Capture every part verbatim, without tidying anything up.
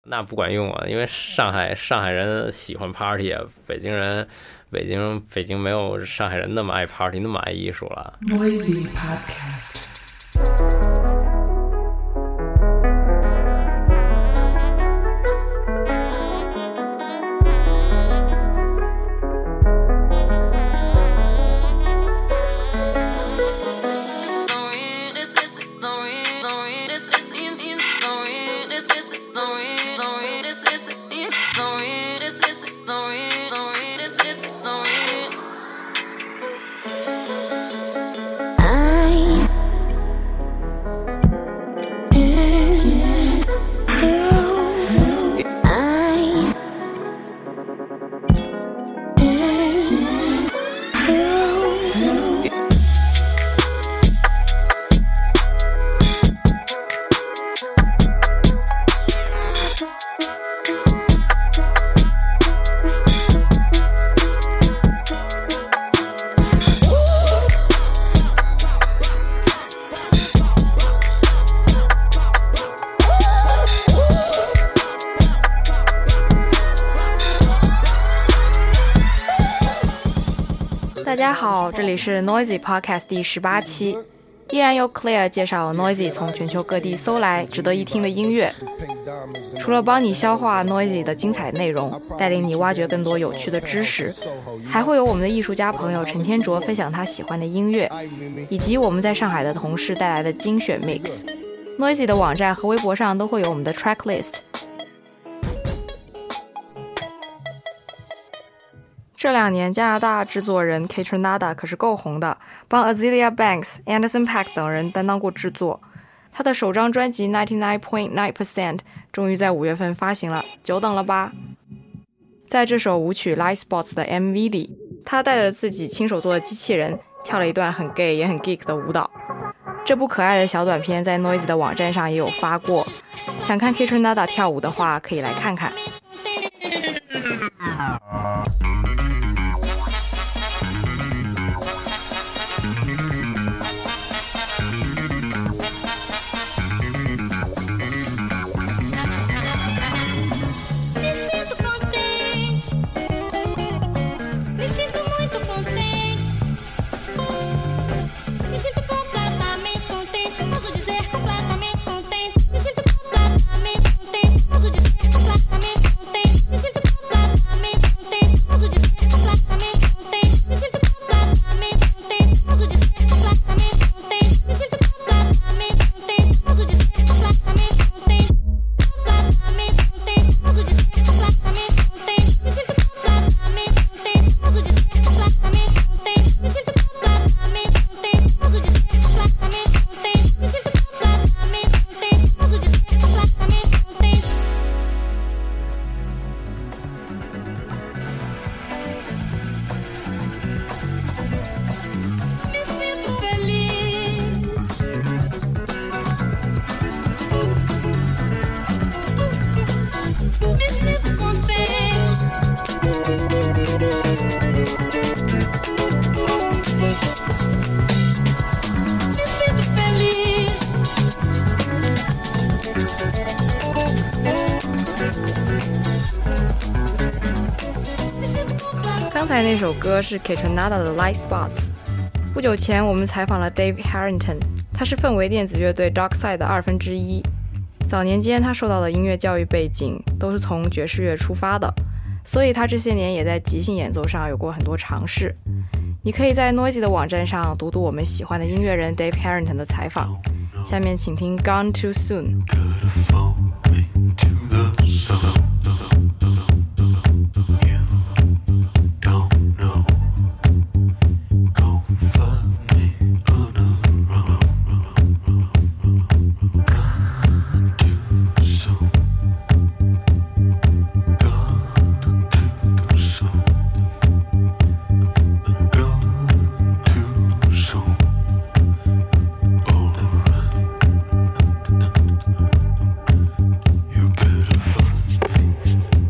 那不管用啊，因为上海上海人喜欢 party 啊，北京人北京北京没有上海人那么爱 party 那么爱艺术了。 Noisy Podcast。 大家好，这里是 Noisy Podcast 第十八期，依然由 Claire 介绍 Noisy 从全球各地搜来值得一听的音乐。除了帮你消化 Noisy 的精彩内容，带领你挖掘更多有趣的知识，还会有我们的艺术家朋友陈天卓分享他喜欢的音乐，以及我们在上海的同事带来的精选 mix。Noisy 的网站和微博上都会有我们的 track list。这两年加拿大制作人 Kaytranada 可是够红的，帮 Azealia Banks、Anderson .Paak 等人担当过制作。他的首张专辑 ninety-nine point nine percent 终于在五月份发行了，久等了吧。在这首舞曲 Light Spots 的 M V 里，他带着自己亲手做的机器人跳了一段很 gay 也很 geek 的舞蹈。这部可爱的小短片在 Noisy 的网站上也有发过，想看 Kaytranada 跳舞的话可以来看看。刚才那首歌是 Kaytranada 的 Light Spots。 不久前我们采访了 Dave Harrington， 他是氛围电子乐队 Darkside 的二分之一。早年间他受到的音乐教育背景都是从爵士乐出发的，所以他这些年也在即兴演奏上有过很多尝试。你可以在 Noisy 的网站上读读我们喜欢的音乐人 Dave Harrington 的采访。下面请听 Gone Too Soon。 You better find me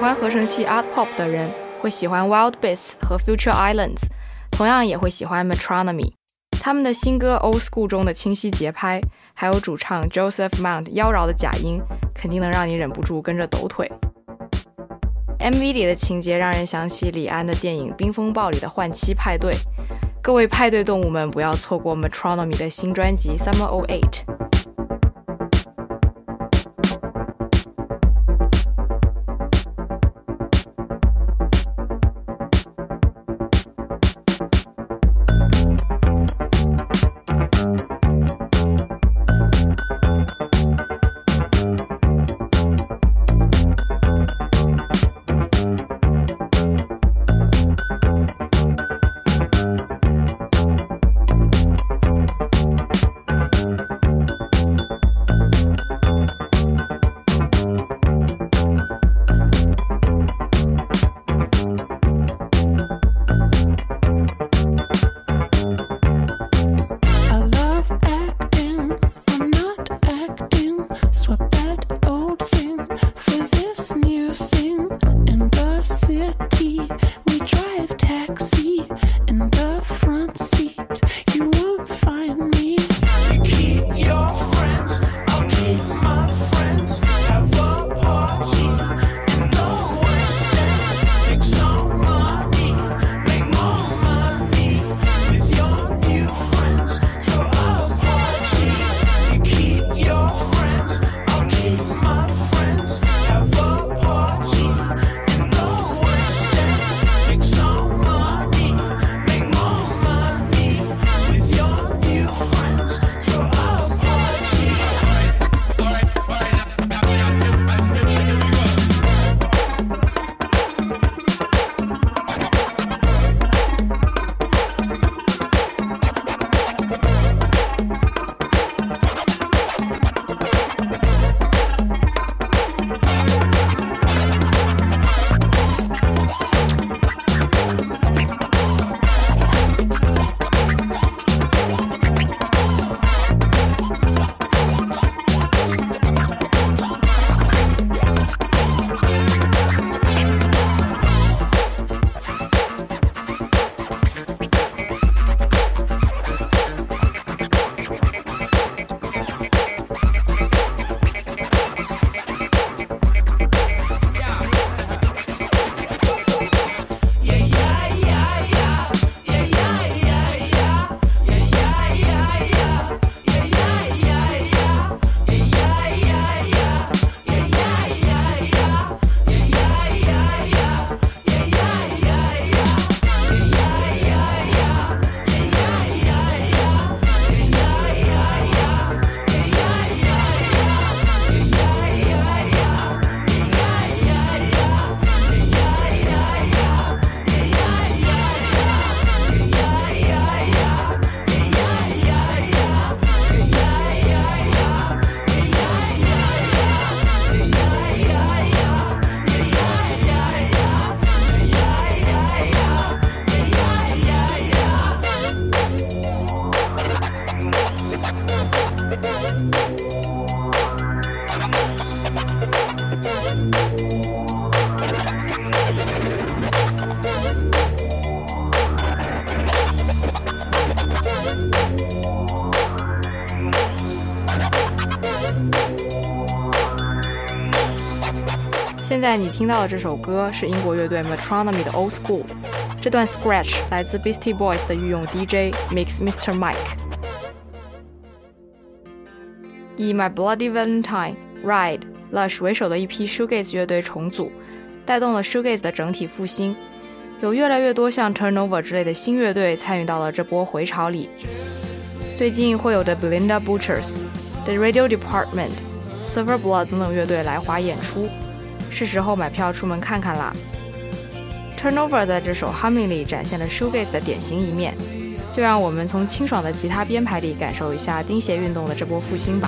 欢合成器 Art Pop 的人会喜欢 Wild Beasts 和 Future Islands， 同样也会喜欢 Metronomy。 他们的新歌 Old School 中的清晰节拍，还有主唱 Joseph Mount 妖娆的假音，肯定能让你忍不住跟着抖腿。 M V 里的情节让人想起李安的电影《冰风暴》里的换妻派对。各位派对动物们，不要错过 Metronomy 的新专辑 Summer 哦八。现在你听到的这首歌是英国乐队 Metronomy 的 Old School， 这段 scratch 来自 Beastie Boys 的御用 D J Mix Mister Mike。 以 My Bloody Valentine、Ride、Lush 为首的一批 Shoegaze 乐队重组，带动了 Shoegaze 的整体复兴，有越来越多像 Turnover 之类的新乐队参与到了这波回潮里。最近会有的 Belinda Butchers、The Radio Department、Silver Blood 等等乐队来华演出，是时候买票出门看看啦。Turnover 在这首 Humming 里展现了 Shoegaze 的典型一面，就让我们从清爽的吉他编排里感受一下钉鞋运动的这波复兴吧。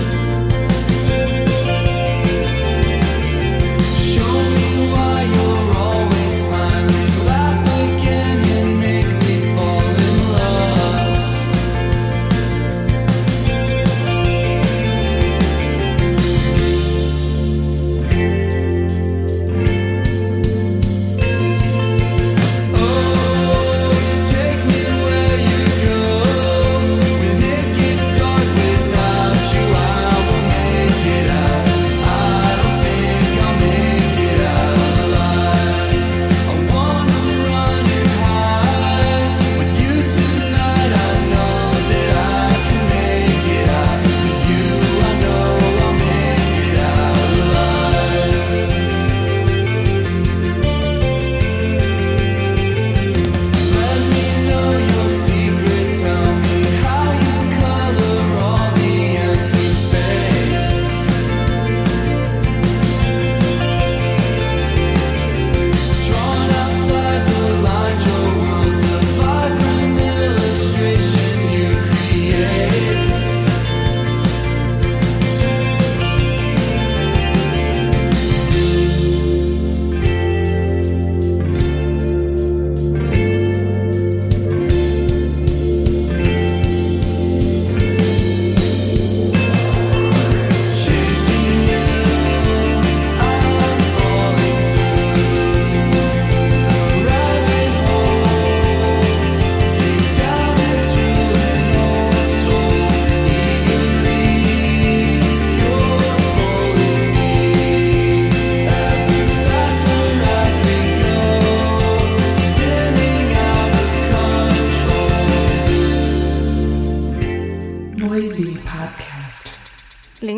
Show me why you're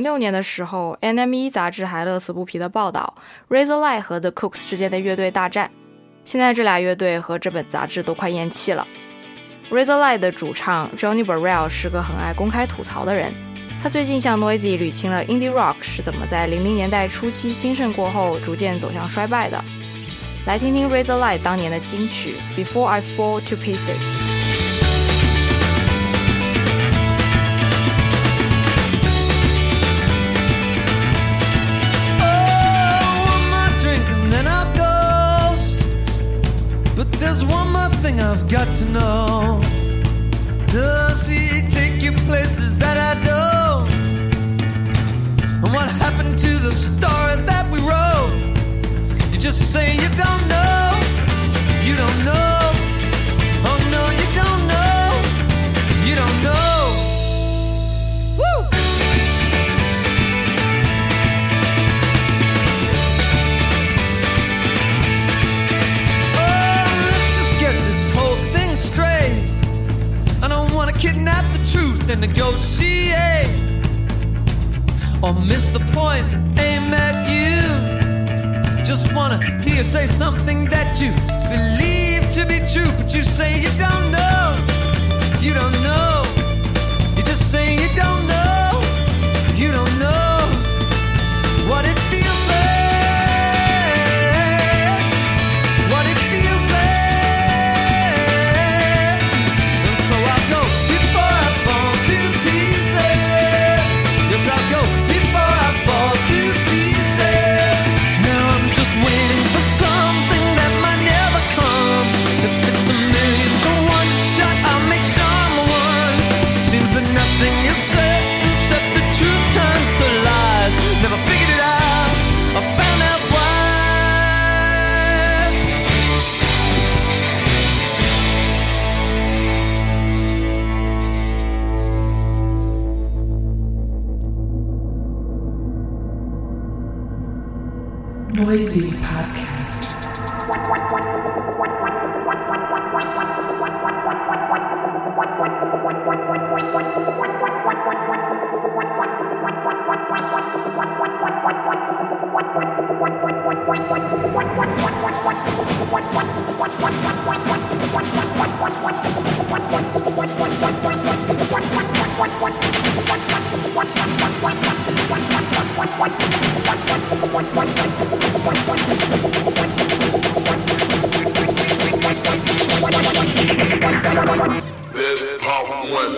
六年的时候 N M E 杂志还乐此不疲地报道 Razorlight 和 The Cooks 之间的乐队大战，现在这俩乐队和这本杂志都快咽气了。 Razorlight 的主唱 Johnny Burrell 是个很爱公开吐槽的人，他最近向 Noisy 捋清了 Indie Rock 是怎么在零零年代初期兴盛过后逐渐走向衰败的。来听听 Razorlight 当年的金曲 Before I Fall to Pieces。There's one more thing I've got to know. Does he take you places that I don't? And what happened to the story that we wrote? You just say you don't know. You don't know. Oh no, you don't know. You don't know. Woo! Kidnap the truth and negotiate, or miss the point and aim at you. Just wanna hear you say something that you believe to be true, but you say you don't know. You don't know. You just say you don't know. You don't know what it feels like. What it feels like. Never figured it out or found out why. Noisy Podcast. This pop one.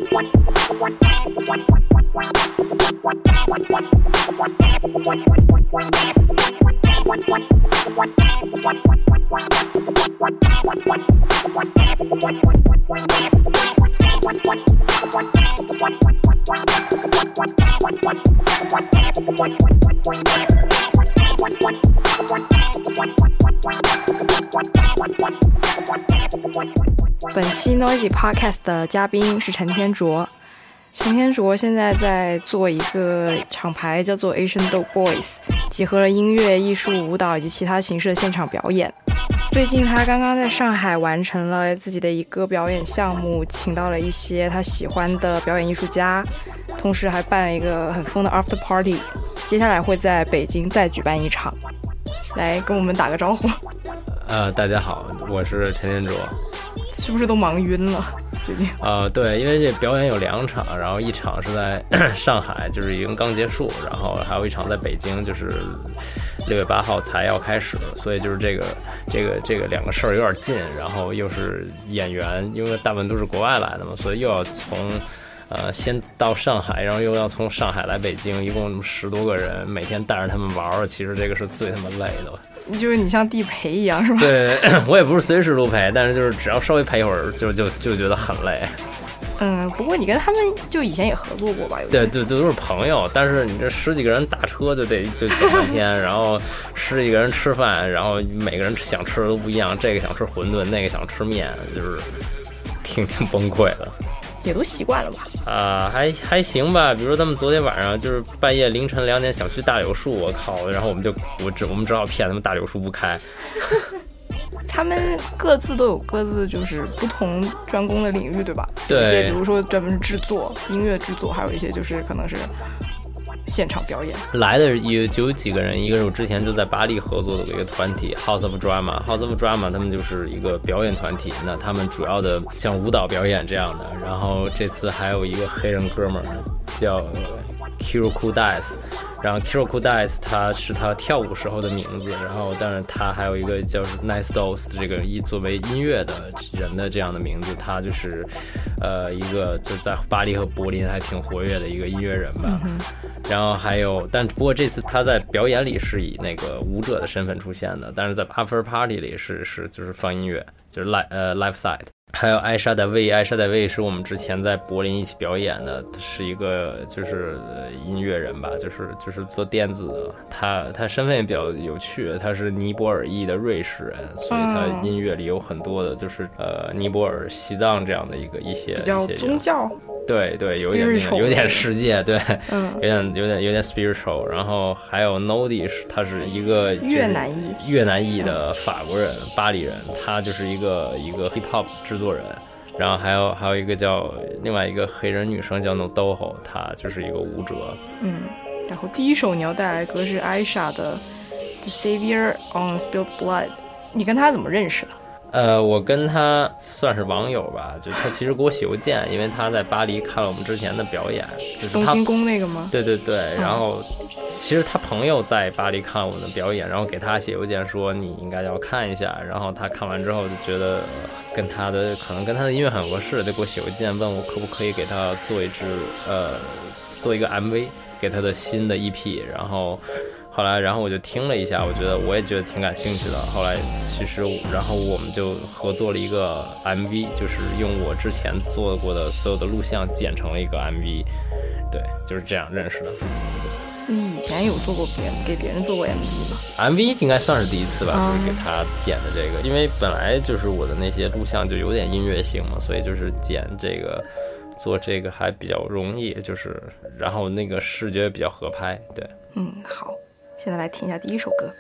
Noisy 本期 Noisy Podcast 的嘉宾是陈天卓。陈天卓现在在做一个厂牌叫做 Asian Dope Boys， 集合了音乐、艺术、舞蹈以及其他形式的现场表演。最近他刚刚在上海完成了自己的一个表演项目，请到了一些他喜欢的表演艺术家，同时还办了一个很疯的 After Party， 接下来会在北京再举办一场。来跟我们打个招呼。 呃，大家好，我是陈天卓。 是不是都忙晕了最近？ 呃，对，因为这表演有两场，然后一场是在上海，就是已经刚结束，然后还有一场在北京，就是六月八号才要开始，所以就是这个这个这个两个事儿有点近，然后又是演员，因为大部分都是国外来的嘛，所以又要从呃先到上海，然后又要从上海来北京，一共十多个人，每天带着他们玩，其实这个是最他妈累的。 就是你像地陪一样是吧？ 对，我也不是随时都陪，但是就是只要稍微陪一会儿就就就觉得很累。 嗯，不过你跟他们就以前也合作过吧？有对对，都是朋友，但是你这十几个人打车就得就等半天，然后十几个人吃饭，然后每个人想吃的都不一样，这个想吃馄饨，那个想吃面，就是挺挺崩溃的。 也都习惯了吧？ 啊、呃，还还行吧。比如说他们昨天晚上就是半夜凌晨两点想去大柳树，我靠！然后我们就我只我们只好骗他们大柳树不开。 他们各自都有各自就是不同专攻的领域，对吧？ 对。 有些比如说专门是制作音乐制作，还有一些就是可能是现场表演？ 来的有就有几个人，一个是我之前就在巴黎合作的一个团体 House of Drama，House of Drama 他们就是一个表演团体，那他们主要的像舞蹈表演这样的，然后这次还有一个黑人哥们儿叫 Kiro Dice。然后 Kiro Dice 他是他跳舞时候的名字，然后但是他还有一个叫 Nice Dose 这个一作为音乐的人的这样的名字，他就是呃一个就在巴黎和柏林还挺活跃的一个音乐人吧。嗯、然后还有，但不过这次他在表演里是以那个舞者的身份出现的，但是在 After Party 里是是就是放音乐，就是 live 呃 live side。还有艾莎戴维，艾莎戴维是我们之前在柏林一起表演的，是一个就是音乐人吧，就是就是做电子的。他他身份也比较有趣，他是尼泊尔裔的瑞士人，所以他音乐里有很多的就是呃尼泊尔、西藏这样的一个一些比较宗教。 对对，有点有点世界，对，嗯，有点有点有点 spiritual。然后还有 Nodi 是他是一个越南裔越南裔的法国人，巴黎人，他就是一个一个 hip hop 制作人。然后还有还有一个叫另外一个黑人女生叫 Nodoho， 她就是一个舞者。 嗯，然后第一首你要带来的歌是艾莎的 The Savior on Spilled Blood， 你跟她怎么认识的？ 呃，我跟他算是网友吧，就他其实给我写邮件，因为他在巴黎看了我们之前的表演，就是东京宫那个吗？ 对对对，然后、嗯、其实他朋友在巴黎看我们的表演，然后给他写邮件说你应该要看一下，然后他看完之后就觉得跟他的可能跟他的音乐很合适，就给我写邮件问我可不可以给他做一支呃做一个 M V 给他的新的 E P， 然后。后来，然后我就听了一下，我觉得我也觉得挺感兴趣的。后来，其实，然后我们就合作了一个 M V， 就是用我之前做过的所有的录像剪成了一个 M V， 对，就是这样认识的。 你以前有做过别人给别人做过 M V 吗 ？M V 应该算是第一次吧，就是给他剪的这个，因为本来就是我的那些录像就有点音乐性嘛，所以就是剪这个做这个还比较容易，就是然后那个视觉比较合拍，对。 嗯，好。现在来听一下第一首歌。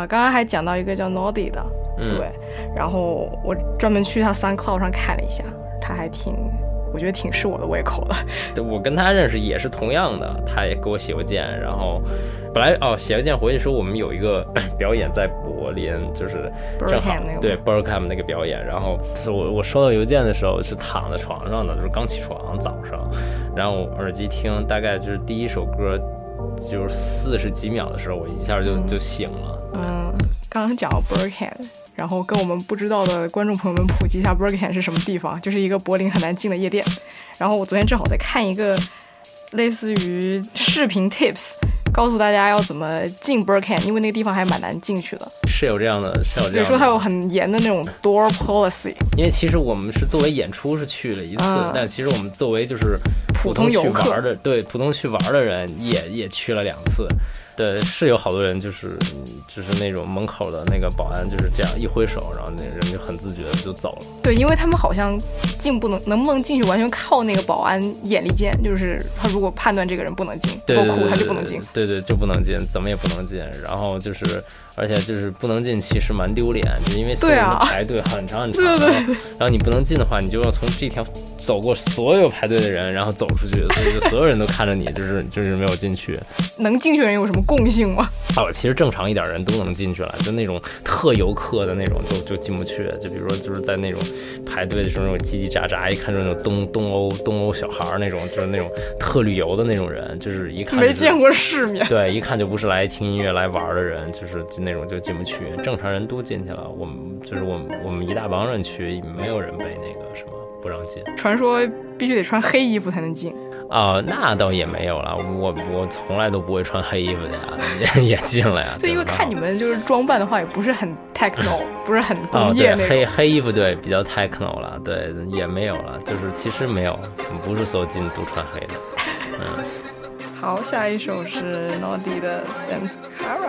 啊，刚刚还讲到一个叫 Naughty 的， 嗯、 对，然后我专门去他 SoundCloud 上看了一下，他还挺，我觉得挺是我的胃口的。 我跟他认识也是同样的，他也给我写过件，然后本来哦写个件回去说我们有一个表演在柏林，就是正好对 Berkham 那个表演，然后我我收到邮件的时候是躺在床上的，就是刚起床早上，然后我耳机听，大概就是第一首歌就是四十几秒的时候，我一下就就醒了。 嗯，刚刚讲到 Berkham， 然后跟我们不知道的观众朋友们普及一下 Berkham 是什么地方，就是一个柏林很难进的夜店。然后我昨天正好在看一个类似于视频 tips， 告诉大家要怎么进 Berkham， 因为那个地方还蛮难进去的。 是有这样的，是有这样的。 对，说它有很严的那种 door policy。 因为其实我们是作为演出是去了一次，嗯、但其实我们作为就是普通去玩的，对普通去玩的人也也去了两次。对，是有好多人就是就是那种门口的那个保安就是这样一挥手，然后那人就很自觉的就走了。 对，因为他们好像进不能能不能进去完全靠那个保安眼力见，就是他如果判断这个人不能进，够酷他就不能进。 对 对, 对, 对，就不能进，怎么也不能进。然后就是，而且就是不能进，其实蛮丢脸，就因为所有人排队很长很长。对对对。然后你不能进的话，你就要从这条走过所有排队的人，然后走出去，所以就所有人都看着你，就是就是没有进去。 能进去的人有什么共性吗？ 哦，其实正常一点人都能进去了，就那种特游客的那种就就进不去。就比如说就是在那种排队的时候那种叽叽喳喳，一看就是那种东东欧东欧小孩那种，就是那种特旅游的那种人，就是一看、就是、 没见过世面。 对，一看就不是来听音乐来玩的人，就是就那种就进不去。正常人都进去了，我们就是我们我们一大帮人去，没有人被那个什么不让进。 传说必须得穿黑衣服才能进。 啊、呃，那倒也没有了，我我从来都不会穿黑衣服的呀，也也进了呀。 对，因为看你们就是装扮的话，也不是很 techno， 不是很工业那种。 哦、黑黑衣服对比较 techno 了，对也没有了，就是其实没有，不是所有进都穿黑的。嗯。 好，下一首是 Naughty 的 Samskara。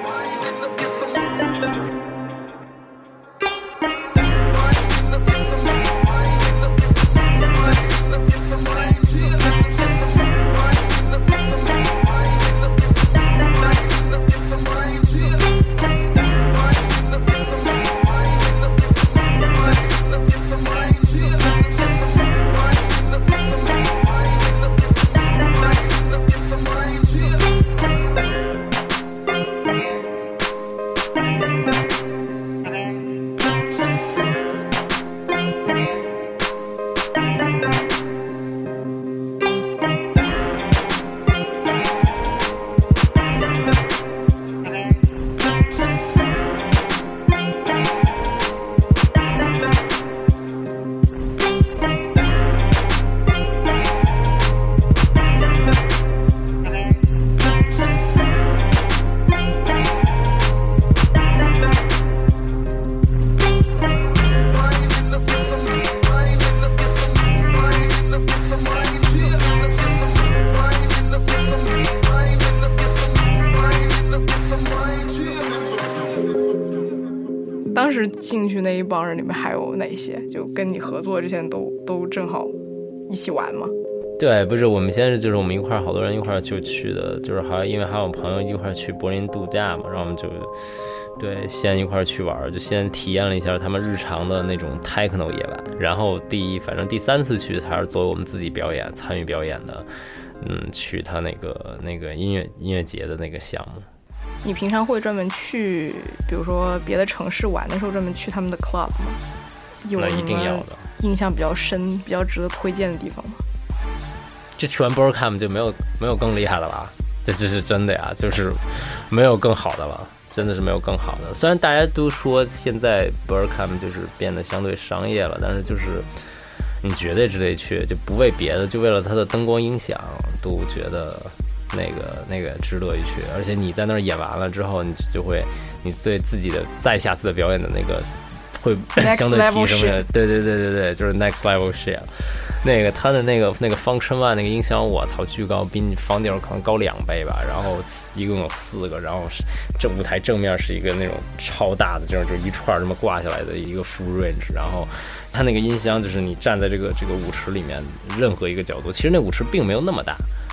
当时进去那一帮人里面还有哪些？就跟你合作之前都都正好一起玩吗？ 对，不是，我们现在是就是我们一块儿好多人一块儿就去的，就是还因为还有朋友一块儿去柏林度假嘛，然后我们就对先一块儿去玩，就先体验了一下他们日常的那种 techno 夜晚，然后第一反正第三次去还是作为我们自己表演参与表演的，嗯，去他那个那个音乐音乐节的那个项目。 你平常会专门去，比如说别的城市玩的时候，专门去他们的 club 吗？有那一定要的。 印象比较深、比较值得推荐的地方吗？ 这去完 Berkham 就没有没有更厉害的了，这这是真的呀，就是没有更好的了，真的是没有更好的。虽然大家都说现在 Berkham 就是变得相对商业了，但是就是你绝对值得去，就不为别的，就为了它的灯光音响，都觉得。那个那个值得一去，而且你在那儿演完了之后，你就会，你对自己的再下次的表演的那个会相对提升的，对对对对对，就是 next level shit。那个他的那个那个 function one 那个音响，我操，巨高，比你房顶可能高两倍吧。然后一共有四个，然后这舞台正面是一个那种超大的，这种就一串这么挂下来的一个 full range。然后他那个音箱就是你站在这个这个舞池里面任何一个角度，其实那舞池并没有那么大。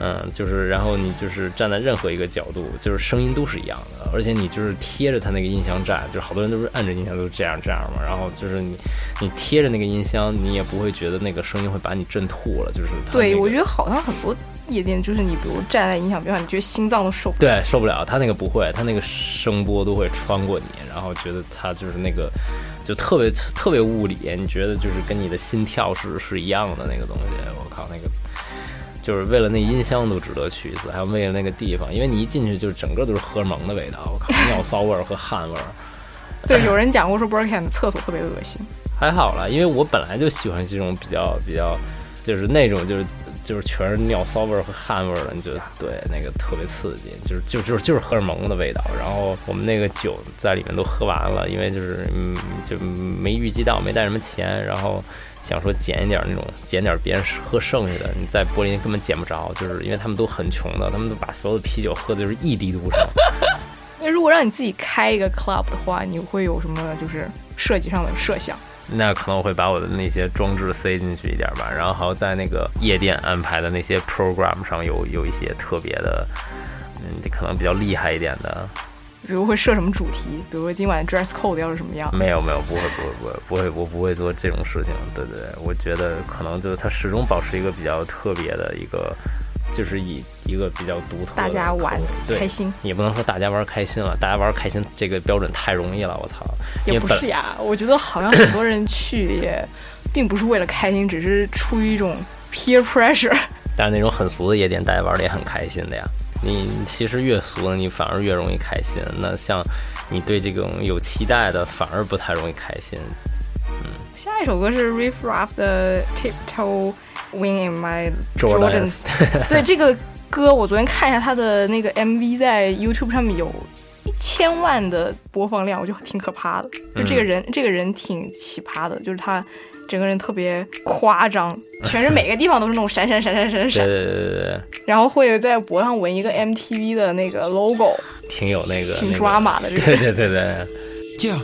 嗯，就是然后你就是站在任何一个角度，就是声音都是一样的，而且你就是贴着它那个音箱站，就是好多人都是按着音箱都这样这样嘛，然后就是你你贴着那个音箱，你也不会觉得那个声音会把你震吐了，就是它、那个、 对，我觉得好像很多夜店就是你比如站在音响边上，你觉得心脏都受不了。 对，受不了，它那个不会，它那个声波都会穿过你，然后觉得它就是那个就特别特别物理，你觉得就是跟你的心跳是是一样的那个东西，我靠那个。就是为了那音箱都值得去一次，还有为了那个地方，因为你一进去就整个都是荷尔蒙的味道，我靠，尿骚味儿和汗味儿。 对，有人讲过说 Birkenhead 的厕所特别恶心。 还好啦，因为我本来就喜欢这种比较比较，就是那种就是就是全是尿骚味儿和汗味儿的，你就对那个特别刺激，就是就就是就是荷尔蒙的味道。然后我们那个酒在里面都喝完了，因为就是嗯就没预计到，没带什么钱，然后。想说捡一点那种，捡点别人喝剩下的，你在柏林根本捡不着，就是因为他们都很穷的，他们都把所有的啤酒喝的就是一滴都不剩。 那如果让你自己开一个 club 的话，你会有什么就是设计上的设想？ 那可能我会把我的那些装置塞进去一点吧，然后还有在那个夜店安排的那些 program 上有有一些特别的，嗯，可能比较厉害一点的。 比如会设什么主题？比如说今晚 dress code 要是什么样？ 没有没有，不会不会不会不会，我不会做这种事情。对对对，我觉得可能就是它始终保持一个比较特别的一个，就是以一个比较独特的， 大家玩开心， 也不能说大家玩开心了，大家玩开心这个标准太容易了，我操！ 也不是呀，我觉得好像很多人去也并不是为了开心，只是出于一种 peer pressure。 但是那种很俗的夜店，大家玩的也很开心的呀。你其实越俗的，你反而越容易开心。那像你对这种有期待的，反而不太容易开心。嗯， 下一首歌是 Riff Raff 的 Tiptoe Wing in My Jordans。 对，这个歌我昨天看一下他的那个 M V， 在 YouTube 上面有一千万的播放量，我就挺可怕的。就这个人，嗯、这个人挺奇葩的，就是他。整个人特别夸张，全是每个地方都是那种闪闪闪闪闪闪， 对对对对， 然后会在脖上纹一个 M T V 的那个 logo， 挺有那个， 挺抓马的，这个， 对对对对。 Yeah,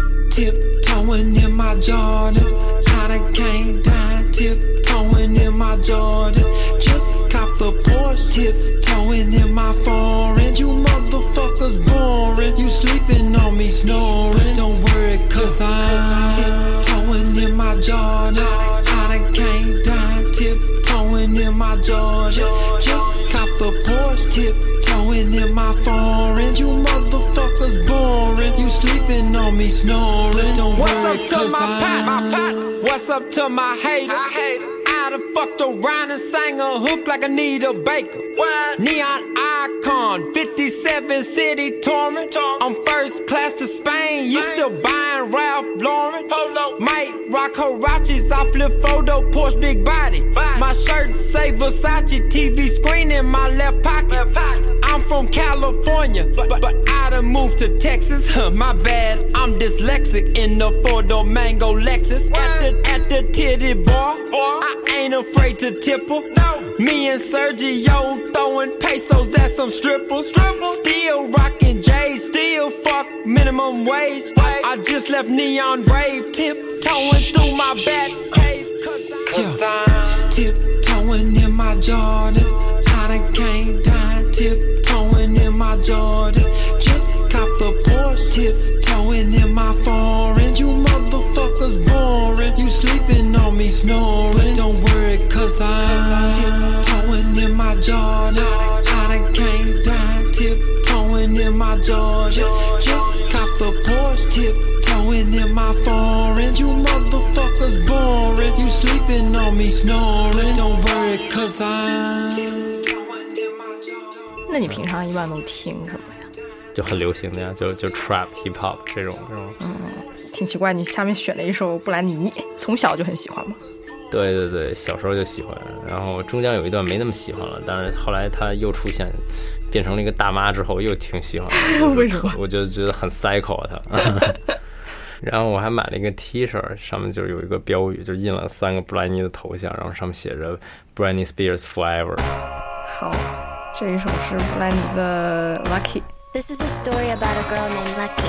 tiptoeing in my Jordans, I done came down, tiptoeing in my Jordans, just cop the Porsche, tiptoeing in my foreign. You motherfuckers boring, you sleeping on me snoring. Don't worry, cause I'm tiptoeing in my Jordans, I done came down, tiptoeing in my Jordans, just cop the Porsche, tiptoeing in my foreign. You motherfuckers boring, you sleeping on me snoring. Don't What's worry, up to cause my I'm pot, my pot? What's up to my haters? I hate it. I done fucked around and sang a hook like Anita Baker. What? Neon icon, fifty-seven city touring. I'm first class to Spain, you still buying Ralph Lauren. Polo. Might rock Huaraches, I flip photo, Porsche big body. body. My shirt say Versace, T V screen in my left pocket. Left pocket. I'm from California, but, but, but I done moved to Texas. Huh, my bad, I'm dyslexic in the four-door Mango Lexus. At the, at the titty bar, boy, I ain't afraid to tip her. No. Me and Sergio throwing pesos at some strippers. strippers. Still rocking J's, still fuck minimum wage. I, I just left Neon Rave, tiptoeing through my back cave. Cause I'm tiptoeing in my Jordans, I done came down, tiptoeing in my Jordans, just cop the Porsche, tiptoeing in my foreign. You motherfuckers boring, you sleeping on me snoring. Don't worry, cause I'm tiptoeing in my Jordans, I done came down, tiptoeing in my Jordans, just cop the Porsche, tiptoeing in my foreign. You motherfuckers boring, you sleeping on me snoring. Don't worry, cause I'm。 那你平常一般都听什么呀？ 就很流行的呀，就就 trap hip hop 这种这种。 嗯，挺奇怪，你下面选了一首布兰妮，从小就很喜欢吗？ 对对对，小时候就喜欢，然后中间有一段没那么喜欢了，但是后来他又出现，变成了一个大妈之后，又挺喜欢的。 为什么？ 我就觉得很 psycho 他。然后我还买了一个 T 恤，上面就有一个标语，就印了三个布兰妮的头像，然后上面写着 Britney Spears Forever。 好，这一首是布兰妮的 Lucky。 This is a story about a girl named Lucky.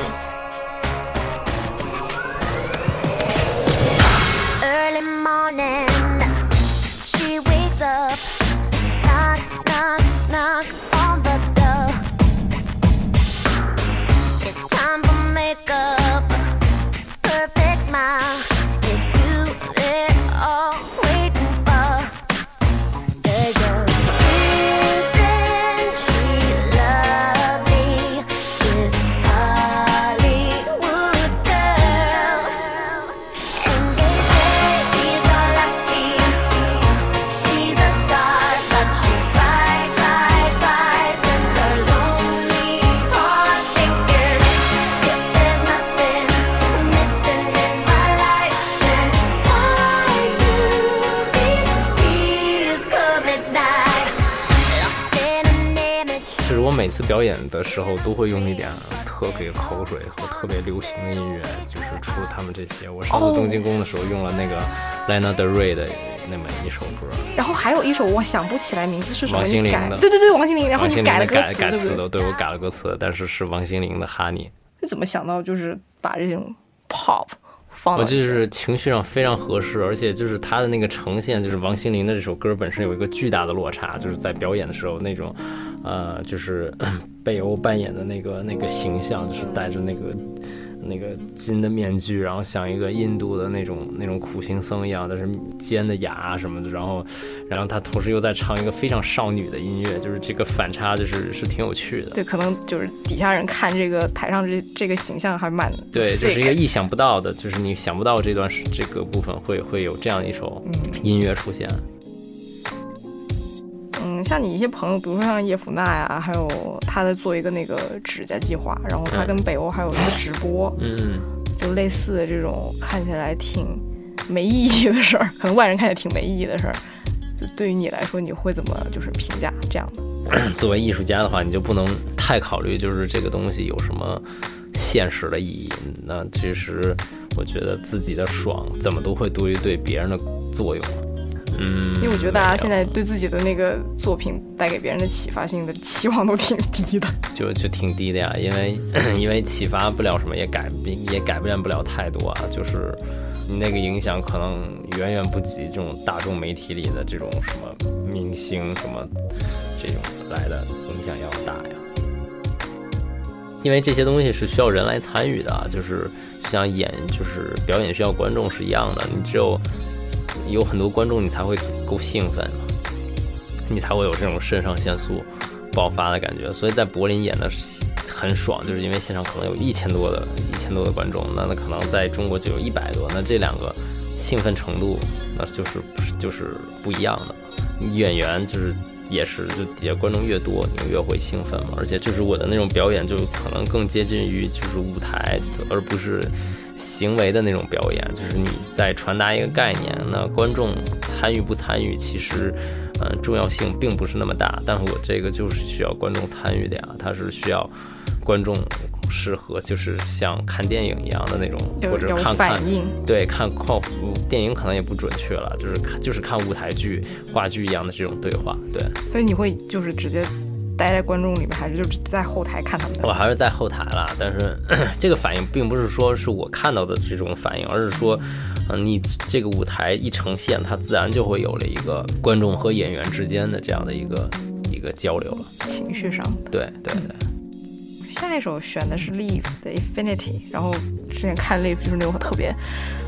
Early morning, she wakes up, knock, knock. knock on the door. It's time for makeup, perfect smile. It's you they're all waiting for. They go, isn't she lovely? This Hollywood girl. And they say she's all lucky. She's a star, but she cry, cry, cries in the lonely heart, thinking if there's nothing missing in my life, then why do these tears come at night? Lost in an image. 就是我每次表演的时候都会用一点特别口水和特别流行的音乐，就是除了他们这些，我上次东京宫的时候用了那个 Lana Del Rey 的那么一首歌， 然后还有一首我想不起来名字是什么， 王心凌你改的对对对，王心凌，然后王心凌你改了歌改词，对不对？ 改词的，对我改了歌词，但是是王心凌的 Honey。 你怎么想到就是把这种 pop 放我到就是情绪上非常合适，而且就是他的那个呈现，就是王心凌的这首歌本身有一个巨大的落差，就是在表演的时候那种，呃，就是北欧扮演的那个那个形象，就是戴着那个那个金的面具，然后像一个印度的那种那种苦行僧一样，但是尖的牙什么的，然后然后他同时又在唱一个非常少女的音乐，就是这个反差就是是挺有趣的。 对，可能就是底下人看这个台上这这个形象还蛮对，就是一个 sick 意想不到的，就是你想不到这段这个部分会会有这样一首音乐出现。 嗯，像你一些朋友，比如说像叶甫娜呀，还有他在做一个那个指甲计划，然后他跟北欧还有一个直播， 嗯， 就类似的这种看起来挺没意义的事儿，可能外人看起来挺没意义的事儿，就对于你来说，你会怎么就是评价这样的？ 作为艺术家的话，你就不能太考虑就是这个东西有什么现实的意义。那其实我觉得自己的爽怎么都会多于对别人的作用。嗯， 因为我觉得大家现在对自己的那个作品带给别人的启发性的期望都挺低的， 就就挺低的呀，因为因为启发不了什么，也改也改变不了太多啊，就是你那个影响可能远远不及这种大众媒体里的这种什么明星什么这种来的影响要大呀。因为这些东西是需要人来参与的啊，就是就像演就是表演需要观众是一样的，你只有有很多观众你才会够兴奋，你才会有这种肾上腺素爆发的感觉。所以在柏林演的很爽，就是因为现场可能有一千多的一千多的观众，那那可能在中国就有一百多，那这两个兴奋程度那就是就是不一样的。演员就是也是，就底下观众越多，你越会兴奋嘛。而且就是我的那种表演就可能更接近于就是舞台，而不是行为的那种表演，就是你在传达一个概念，那观众参与不参与其实嗯、呃、重要性并不是那么大，但是我这个就是需要观众参与的呀，它是需要观众适合就是像看电影一样的那种，或者看看对看看电影可能也不准确了，就是就是看舞台剧话剧一样的这种对话。对， 所以你会就是直接待在观众里面，还是就是在后台看他们的？ 我还是在后台啦，但是这个反应并不是说是我看到的这种反应，而是说，嗯、呃，你这个舞台一呈现，它自然就会有了一个观众和演员之间的这样的一个一个交流了， 情绪上。 对对对。 下一首选的是 Leaf 的 Infinity， 然后之前看 Leaf 就是那种特别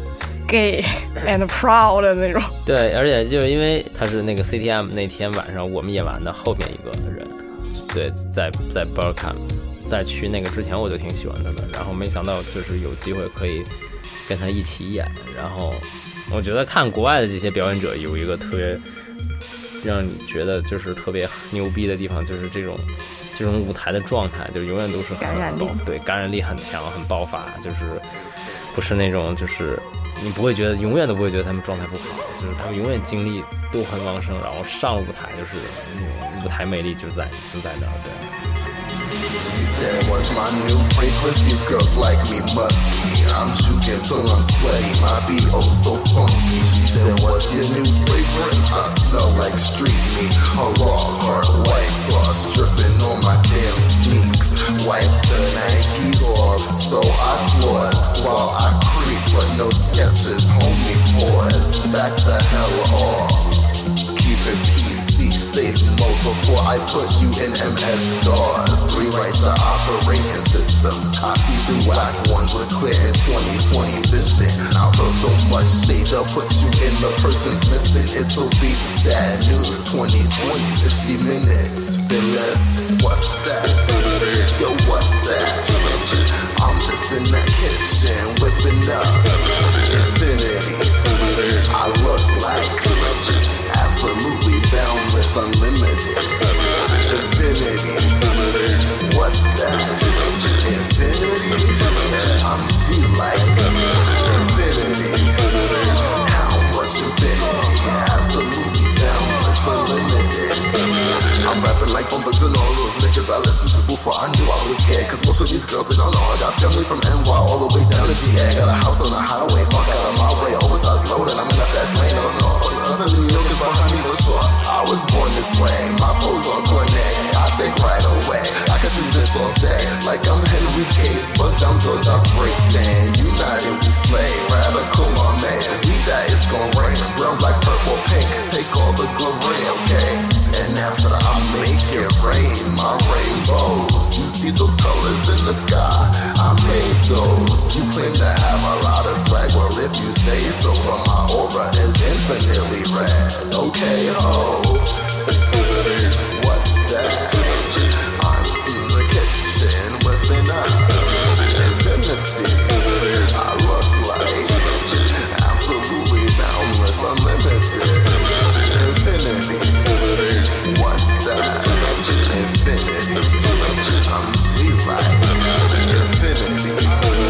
gay and proud 的那种。 对，而且就是因为他是那个 C T M 那天晚上我们演完的后面一个人。对，在在 Berkham， 在去那个之前我就挺喜欢他的，然后没想到就是有机会可以跟他一起演，然后我觉得看国外的这些表演者有一个特别让你觉得就是特别牛逼的地方，就是这种这种舞台的状态，就永远都是很感染力， 对，感染力很强，很爆发，就是不是那种就是你不会觉得永远都不会觉得他们状态不好，就是他们永远精力都很旺盛，然后上了舞台就是、嗯、舞台魅力就在就在那儿，对。 She said, what's my new fragrance? These girls like me must be. I'm juking till I'm sweaty, my beat oh so funky. She said, what's your new fragrance? I smell like street meat. A raw hard white sauce dripping on my damn sneaks. Wipe the Nikes off so I floss while I creep, but no sketches, homie pause. Back the hell off. Keep it P C. safe mode before I push you in M S DOS. Rewrite your operating system. Copy the whack ones with clear and twenty twenty vision. I'll throw so much shade I'll put you in the person's missing. It'll be sad news. Twenty twenty, sixty minutes. Finesse, what's that? Yo, what's that? I'm just in the kitchen whipping up infinity. I look like absolutely boundless, unlimited infinity. What's that? Infinity. I'm she like infinity. How much infinity? Absolutely boundless, unlimited. I'm rapping like bumpers and all those niggas I listened to before I knew I was scared. Cause most of these girls, they don't know I got family from N Y all the way down to G A. Got a house on the highway, fuck out of my way. Oversized load and I'm in the fast lane. No, no, all these other New Yorkers behind me for sure. I was born this way, my foes on Cornet. I take right away, I can do this all day. Like I'm Henry Case, bust down doors, I break down. United we slay, radical my man. We die, it's gon' rain. Brown, black, purple, pink, take all the glory, okay? And after I make it rain, my rainbows. You see those colors in the sky, I made those. You claim to have a lot of swag, well if you say so, but my aura is infinitely red. Okay, ho. What's that? I'm in the kitchen whipping up infinity. I look like absolutely boundless, unlimited infinity. What's that? Infinity. I'm she like infinity.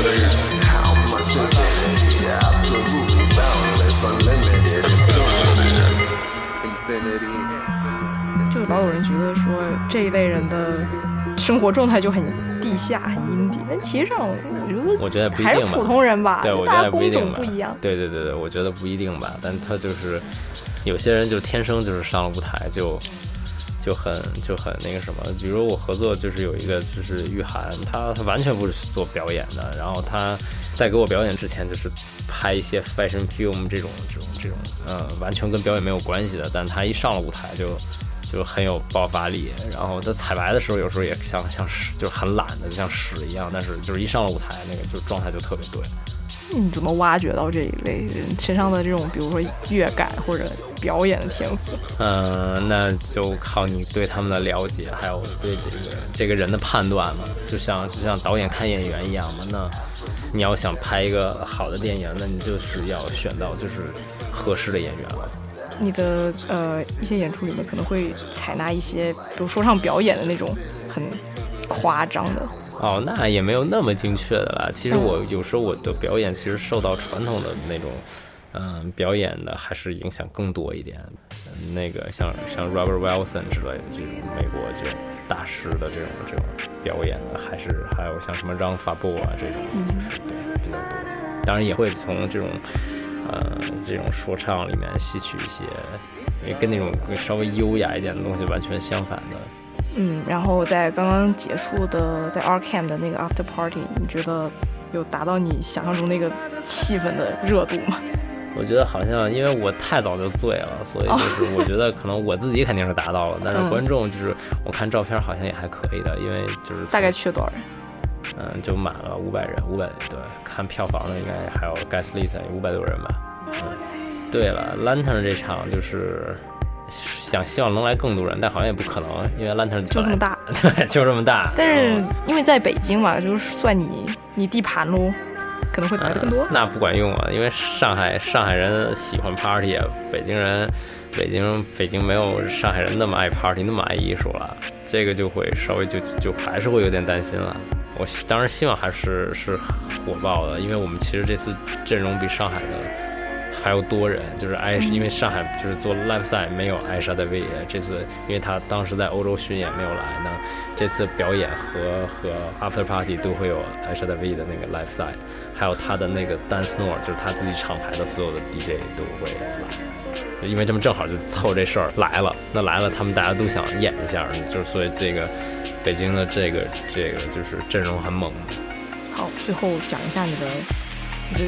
How much infinity? Absolutely boundless, unlimited infinity. Infinity, infinity. 就是老有人觉得说这一类人的生活状态就很地下、很阴底，但其实上我觉得我觉得不一定吧， 还是普通人吧， 对，我觉大家工得不一定吧种不一样。 对对对对，我觉得不一定吧，但他就是有些人就天生就是上了舞台就就很就很那个什么，比如我合作就是有一个就是玉涵，他他完全不是做表演的，然后他在给我表演之前就是拍一些 fashion film 这种这种这种呃完全跟表演没有关系的，但他一上了舞台就就很有爆发力，然后他彩排的时候有时候也像像屎，就是很懒的，就像屎一样，但是就是一上了舞台那个就状态就特别对。 你怎么挖掘到这一类人身上的这种，比如说乐感或者表演的天赋？ 嗯、呃，那就靠你对他们的了解，还有对这个这个人的判断嘛。就像就像导演看演员一样嘛。那你要想拍一个好的电影，那你就是要选到就是合适的演员了。 你的呃一些演出里面可能会采纳一些，比如说唱表演的那种很夸张的。 哦，那也没有那么精确的啦。其实我有时候我的表演其实受到传统的那种，嗯，表演的还是影响更多一点。嗯、那个像像 Robert Wilson 之类的这种美国这种大师的这种这种表演的，还是还有像什么让法布啊这种，就是对比较多。当然也会从这种呃这种说唱里面吸取一些，也跟那种稍微优雅一点的东西完全相反的。 嗯，然后在刚刚结束的在 Arkham 的那个 After Party， 你觉得有达到你想象中那个气氛的热度吗？ 我觉得好像因为我太早就醉了，所以就是我觉得可能我自己肯定是达到了，但是观众就是我看照片好像也还可以的，因为就是大概去了多少人？ 嗯，就满了五百人，五百对，看票房的应该还有 guest list 有五百多人吧。嗯，对了 ，Lantern 这场就是想希望能来更多人，但好像也不可能，因为 Lantern 就这么大， 对，就这么大。 但是因为在北京嘛，就是算你你地盘喽，可能会排的更多、 嗯。那不管用啊，因为上海上海人喜欢 party 啊，北京人北京北京没有上海人那么爱 party， 那么爱艺术了，这个就会稍微就就还是会有点担心了。我当然希望还是是火爆的，因为我们其实这次阵容比上海的还要多人，就是艾，因为上海就是做 live 赛没有艾莎戴维，这次因为他当时在欧洲巡演没有来呢，这次表演和和 after party 都会有艾莎戴维的那个 live 赛，还有他的那个 dance floor， 就是他自己厂牌的所有的 D J 都会来，因为他们正好就凑这事儿来了，那来了他们大家都想演一下，就是所以这个北京的这个这个就是阵容很猛。 好，最后讲一下你的你的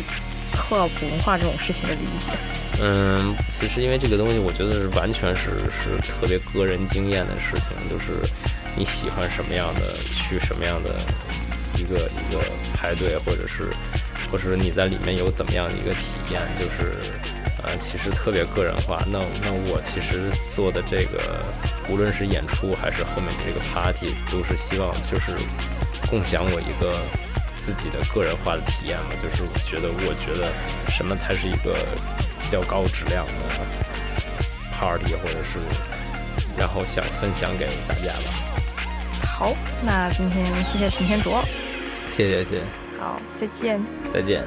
课普通话这种事情的理解？ 嗯，其实因为这个东西，我觉得是完全是是特别个人经验的事情，就是你喜欢什么样的，去什么样的一个一个排队，或者是或者是你在里面有怎么样的一个体验，就是呃，其实特别个人化。那那我其实做的这个，无论是演出还是后面这个 party， 都是希望就是共享我一个自己的个人化的体验嘛，就是我觉得我觉得什么才是一个比较高质量的 party， 或者是然后想分享给大家吧。 好，那今天谢谢陈天卓， 谢谢谢谢， 好，再见， 再见。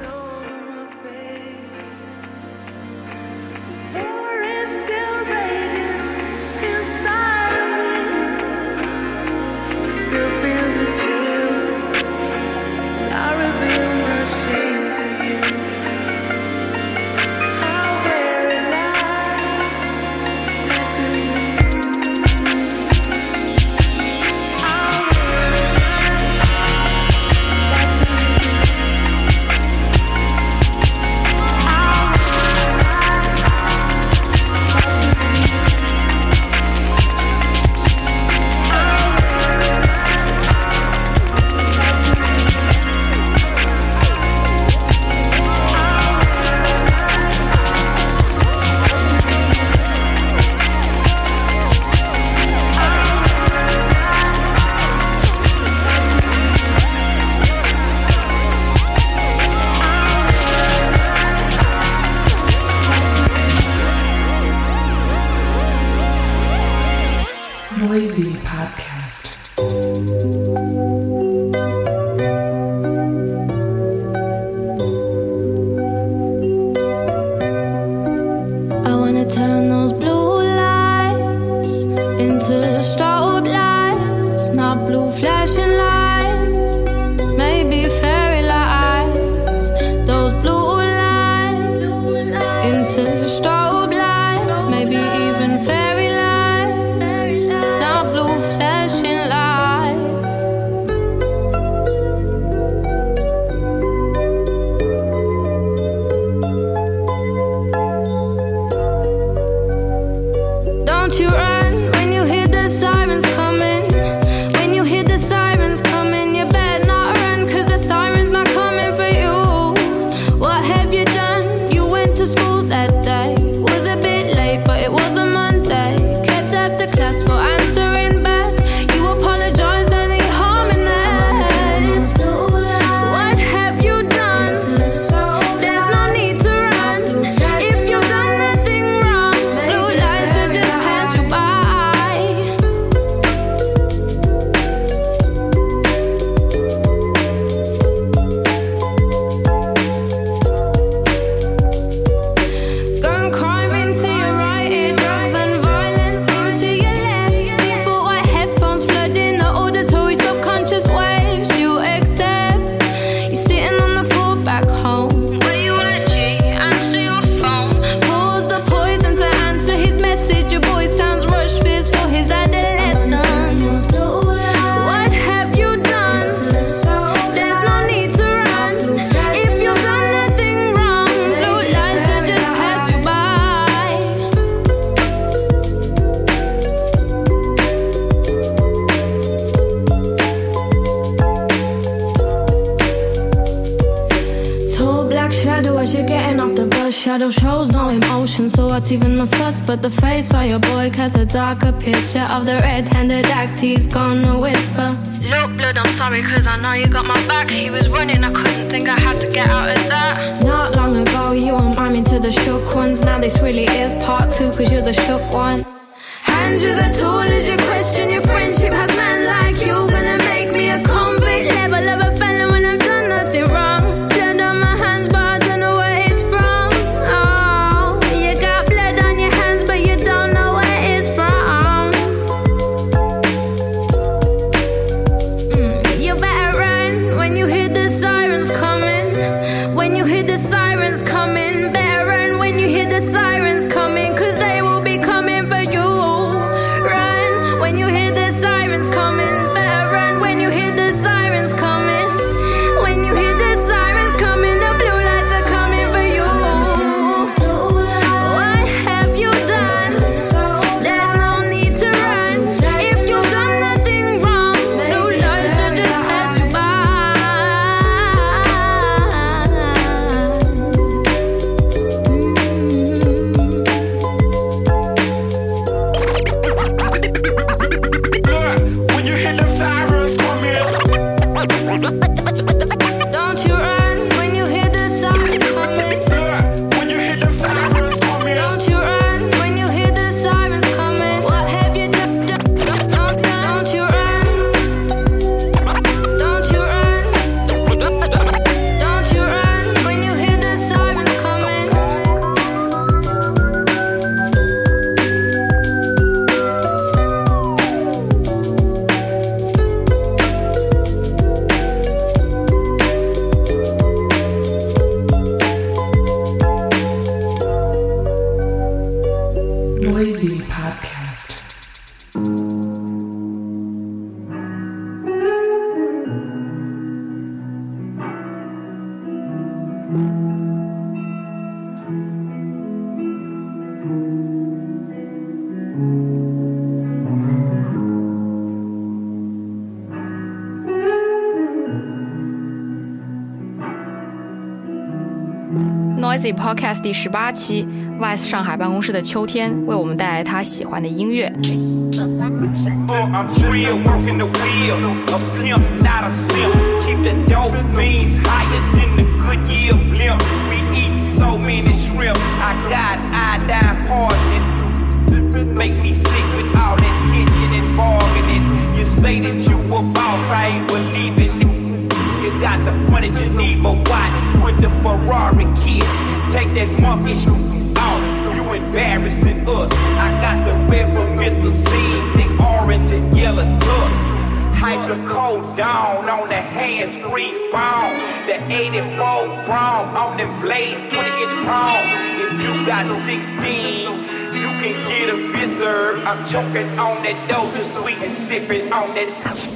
Noisy Podcast. I wanna turn those blue lights into strobe lights, not blue flashing lights, maybe fairy lights. Those blue lights into strobe lights, maybe even fairy lights, not blue flashing lights. Don't you run when you hear the sirens coming. When you hear the sirens coming, you better not run, 'cause the sirens not coming for you. What have you done? You went to school that day. Was a bit late, but it was a Monday. Kept after class for answering back. You apologized, any harm in that? What have you done? There's no need to run. If you've done nothing wrong, blue lights should just pass you by. Gun crime into your right ear, drugs and violence into your left. Default white headphones flooding the auditory subconscious waves you accept. You're sitting on the floor back home. Where you at, G? Answer your phone. Pause the poison to answer his message. Your boy sounds rushed, fears for his adolescence. What have you done? There's no need to run. If you've done nothing wrong, blue lights should just pass you by. Tall black shadow as you're getting off the bus. Shadow shows no emotion, so what's even the fuss? But the face of your boy casts a darker picture of the red-handed act he's gonna whisper. Look, blood, I'm sorry, 'cause I know you got my back. He was running, I couldn't think I had to get out of that. Not long ago, you were miming to the shook ones. Now this really is part two, 'cause you're the shook one. Hand you the tool as you question your friendship. Has man like you gonna make me a convict? Level of a felon when I've done nothing wrong. Blood on my hands, but I don't know where it's from. Oh, you got blood on your hands, but you don't know where it's from. Mm, you better run when you hear the sirens coming. When you hear the sirens coming, better run when you hear the sirens coming, 'cause they will be coming for you. Run when you hear the sirens coming. Don't you run when you hear the sirens coming. When you hear the sirens coming. Don't you run when you hear the sirens coming. What have you done? Don't you run. Don't you run. Don't you run when you hear the sirens coming. Noisy Podcast. Noisy Podcast 第十八期 ，Vice 上海办公室的秋天为我们带来他喜欢的音乐。 I'm drill, working the wheel. A pimp, not a simp. Keep the dope fiends higher than the Goodyear blimp. We eat so many shrimp. I got iodine poisoning. Make me sick with all that hitching and bargaining. You say that you a boss, I ain't believing it. You got the funny Geneva watch with the Ferrari kid. Take that monkish off. You embarrassing us. I got the red scene, the orange and yellow tux. Hype the cold down on the hands, free phone. The eighty-four chrome on them blades, twenty inch chrome. If you got sixteen, you can get a visor. I'm choking on that dope, sweet and sipping on that.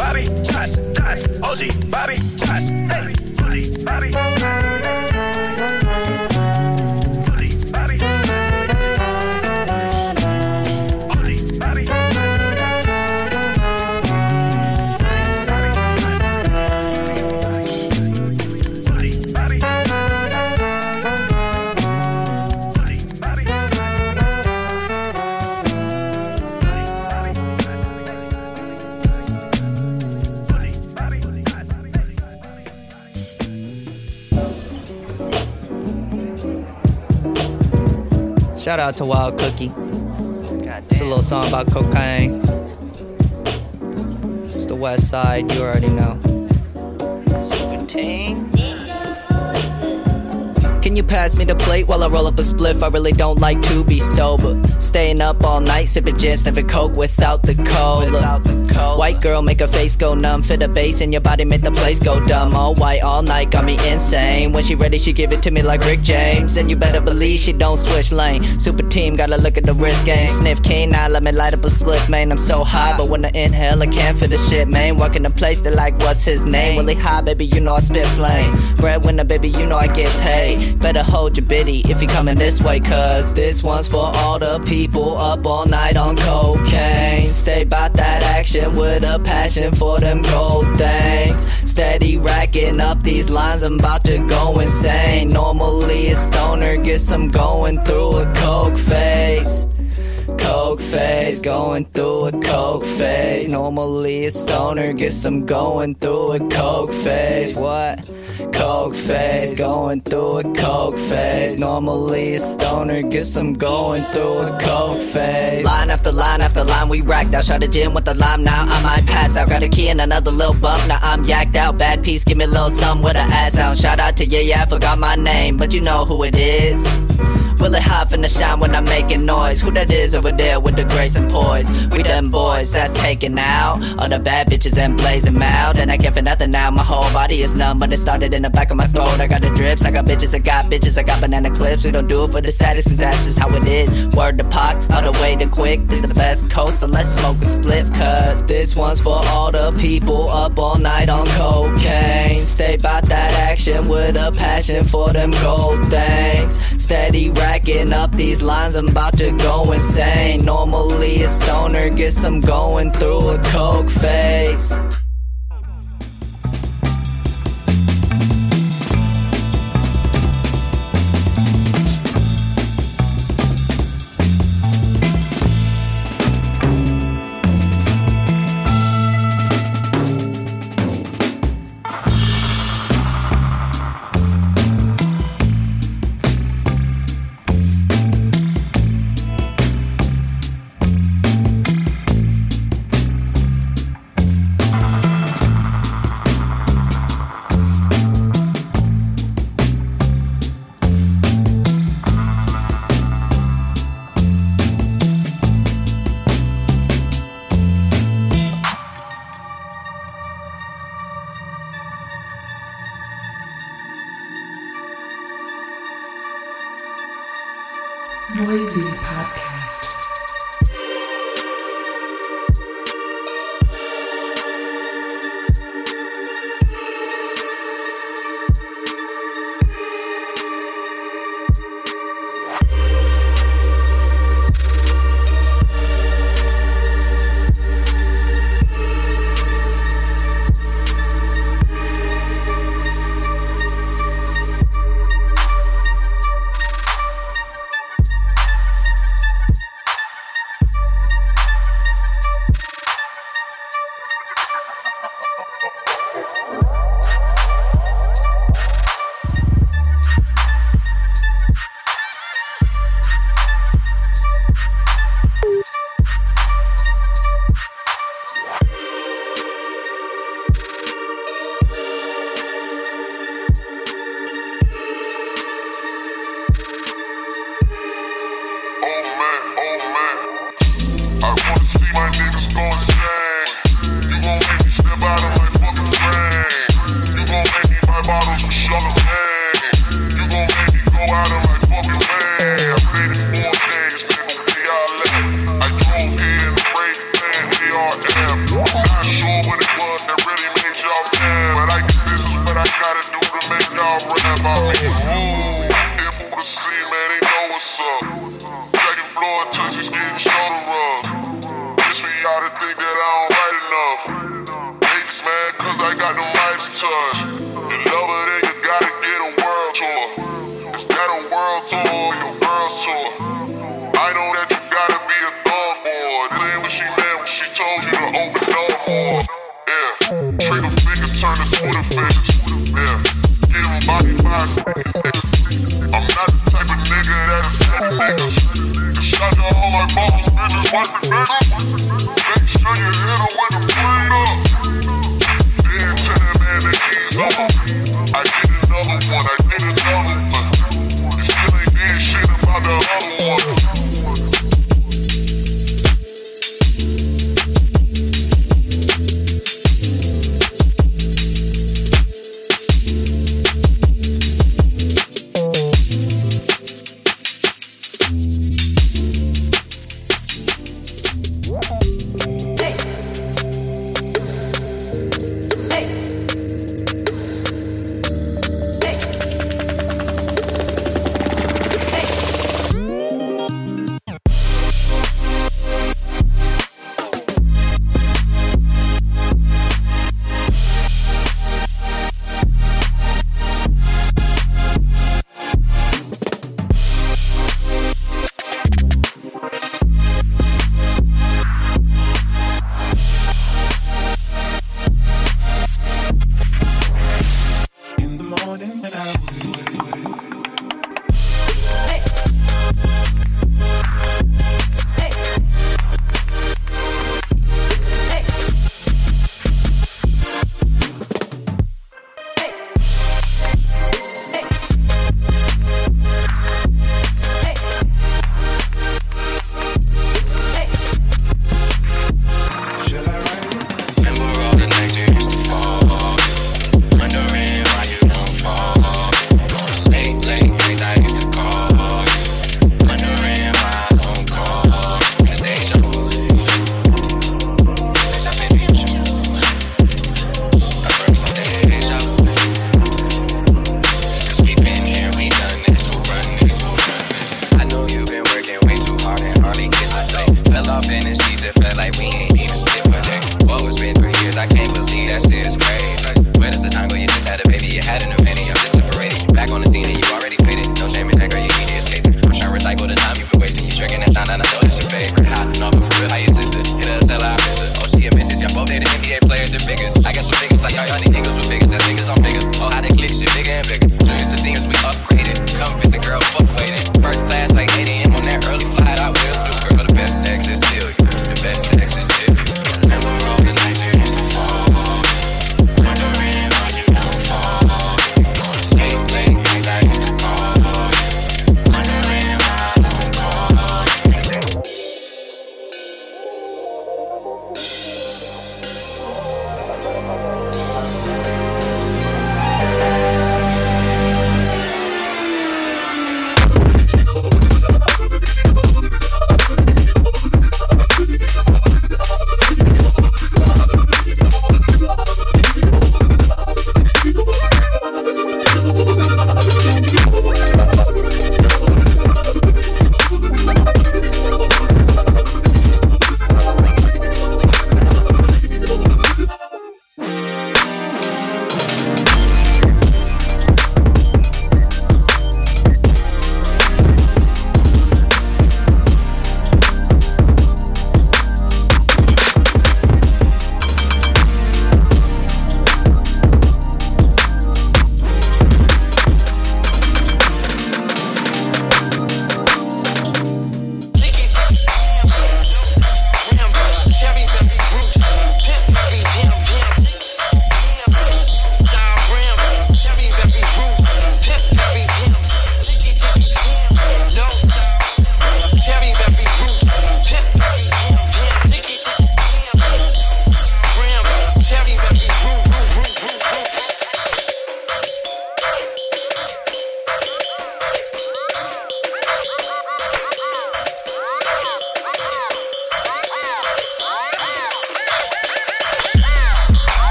Bobby Johnson, O G Bobby Johnson, Bobby, Bobby. Shout out to Wild Cookie. It's a little song about cocaine. It's the West Side, you already know. Super team. Can you pass me the plate while I roll up a spliff? I really don't like to be sober. Staying up all night, sipping gin, sniffing coke without the cola. Without the cola. White girl make her face go numb. Fit the bass in your body, make the place go dumb. All white, all night, got me insane. When she ready, she give it to me like Rick James. And you better believe she don't switch lane. Super team, gotta look at the wrist game. Sniff king, now let me light up a spliff, man. I'm so high, but when I inhale, I can't feel the shit, man. Walking the place, they like, what's his name? Really high, baby, you know I spit flame. Breadwinner, baby, you know I get paid. Better hold your biddy if you coming this way, cause this one's for all the people up all night on cocaine. Stay bout that action with a passion for them gold things. Steady racking up these lines, I'm about to go insane. Normally a stoner gets I'm going through a coke phase. Coke phase, going through a coke phase. Normally a stoner gets I'm going through a coke phase. What? Coke phase, going through a coke phase. Normally a stoner gets I'm going through a coke phase. Line after line after line, we racked out. Shot a gym with the lime, now I might pass out. Got a key and another little bump, now I'm yacked out. Bad piece, give me a little something with a ass out. Shout out to yeah, yeah, I forgot my name, but you know who it is. Will it hop in the shine when I'm making noise? Who that is over there with the grace and poise? We them boys that's taken out. All the bad bitches and blazing out. And I can't feel nothing now, my whole body is numb. But it started in the back of my throat. I got the drips, I got bitches, I got bitches, I got banana clips. We don't do it for the status, cause that's just how it is. Word to Pac, all the way to quick. It's the best coast, so let's smoke a spliff. Cause this one's for all the people up all night on cocaine. Stay bout that action with a passion for them gold things. Steady racking up these lines, I'm about to go insane. Normally a stoner gets I'm going through a coke phase. Noisy Podcast. Not sure what it was. the scene, man, they know what's up. Second floor touches getting shoulder rubs. This for y'all to think that I don't write enough. Niggas mad cause I got the mics touch. You love her, then you gotta get a world tour. Is that a world tour or your girl's tour? I know that you gotta be a thug for her. This ain't what she meant when she told you to open door more. Yeah, trigger fingers turn to Twitter fingers. Yeah, get him body by I'm not the type of nigga that'll tell niggas. Shot to all my bubbles, bitches, wipe it back. Make sure you hit her with the plane up. Then tell that man that he's over. I did another one, I did another one. You still ain't did shit about the other one.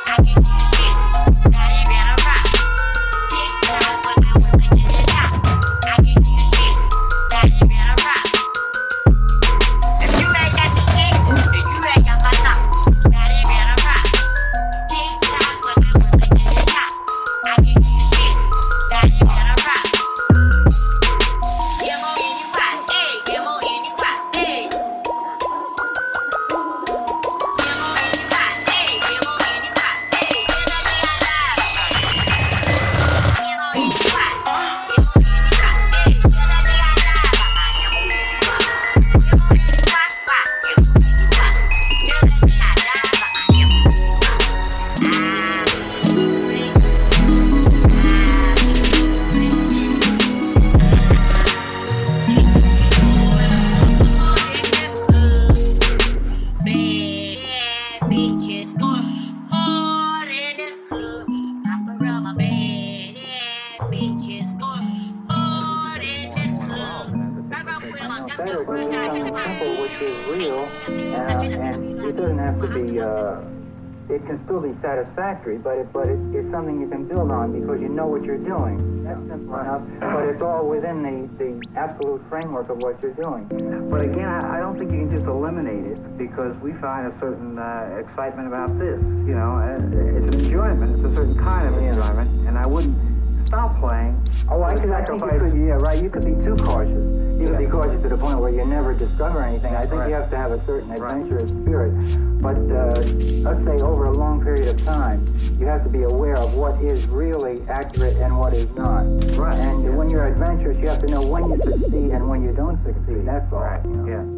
better to do something simple which is real, uh, and it doesn't have to be, uh, it can still be satisfactory, but it, but it, it's something you can build on because you know what you're doing. That's simple enough, but it's all within the, the absolute framework of what you're doing. But again, I, I don't think you can just eliminate it because we find a certain uh, excitement about this. You know, it's an enjoyment. It's a certain kind of enjoyment, and I wouldn't stop playing. Oh, I, could, I think you could, yeah, right. You could be too cautious. You could yeah. be cautious to the point where you never discover anything. I think right. you have to have a certain adventurous right. spirit. But uh, let's say over a long period of time, you have to be aware of what is really accurate and what is not. Right. And yeah. when you're adventurous, you have to know when you succeed and when you don't succeed. That's all. Right. You know? Yeah.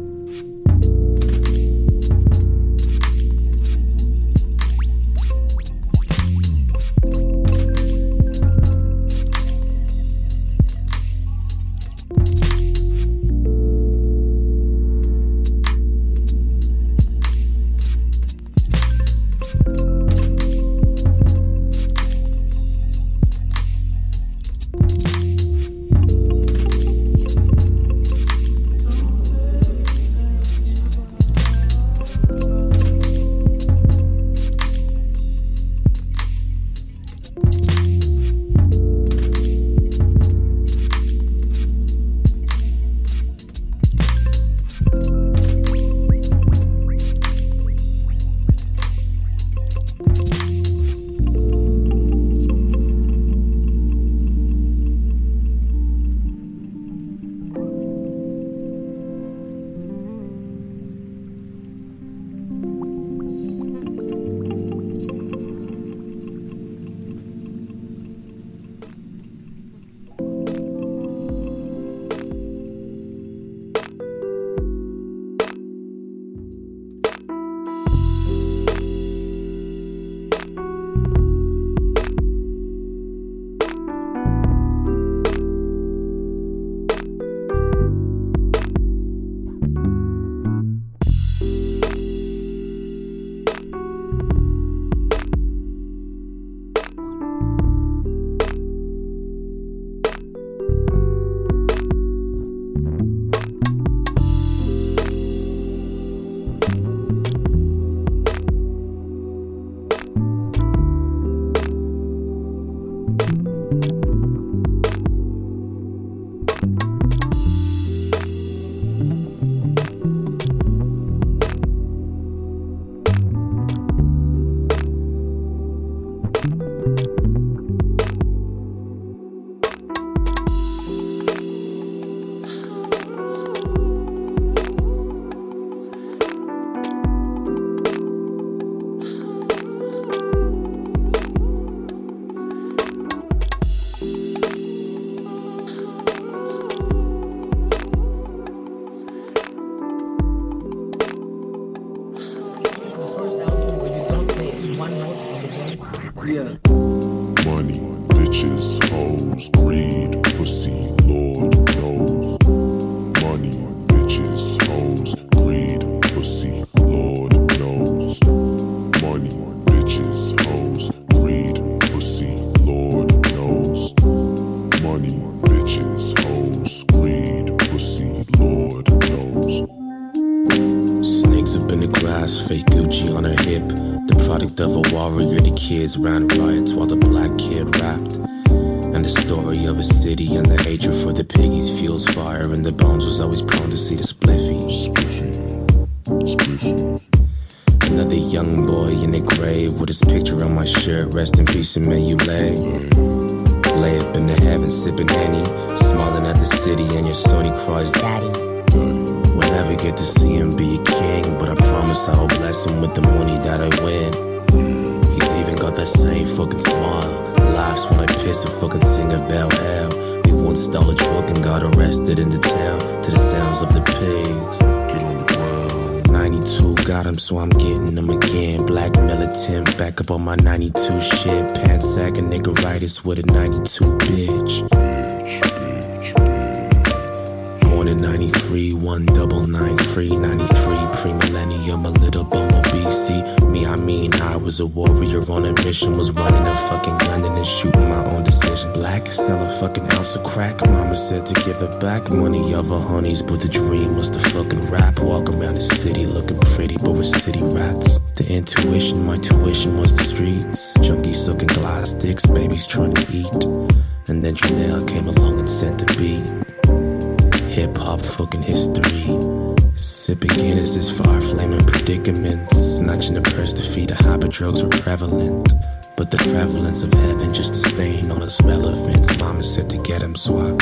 product of a warrior, the kids ran riots while the black kid rapped. And the story of a city and the hatred for the piggies fuels fire, and the bones was always prone to see the spliffy. Spliffy, spliffy. Another young boy in a grave with his picture on my shirt. Rest in peace and may you lay. Lay up in the heavens sipping Henny, smiling at the city and your Sony cries daddy. We'll never get to see him be a king, but I promise I will bless him with the money that I win. He's even got that same fucking smile, laughs when I piss and fucking sing about hell. We once stole a truck and got arrested in the town to the sounds of the pigs. Get on the ground. ninety-two got him, so I'm getting him again. Black militant, back up on my ninety-two shit. Pants sagging niggeritis with a ninety-two bitch. Bitch, bitch, bitch. Born in ninety-three, one double nine three, ninety-three, pre-millennium, a little bumblebee. See me, I mean, I was a warrior on a mission, was running a fucking gun and then shooting my own decisions. Black, sell a fucking ounce of crack. Mama said to give it back. Money of her honeys, but the dream was to fucking rap. Walk around the city looking pretty, but we're city rats. The intuition, my tuition was the streets. Junkies sucking glass sticks, babies trying to eat. And then Janelle came along and sent the beat. Hip-hop fucking history. Sipping Guinnesses, fire flaming predicaments. Snatching a purse to feed a habit, drugs were prevalent. But the prevalence of heaven just a stain on its relevance. Mama said to get him swap.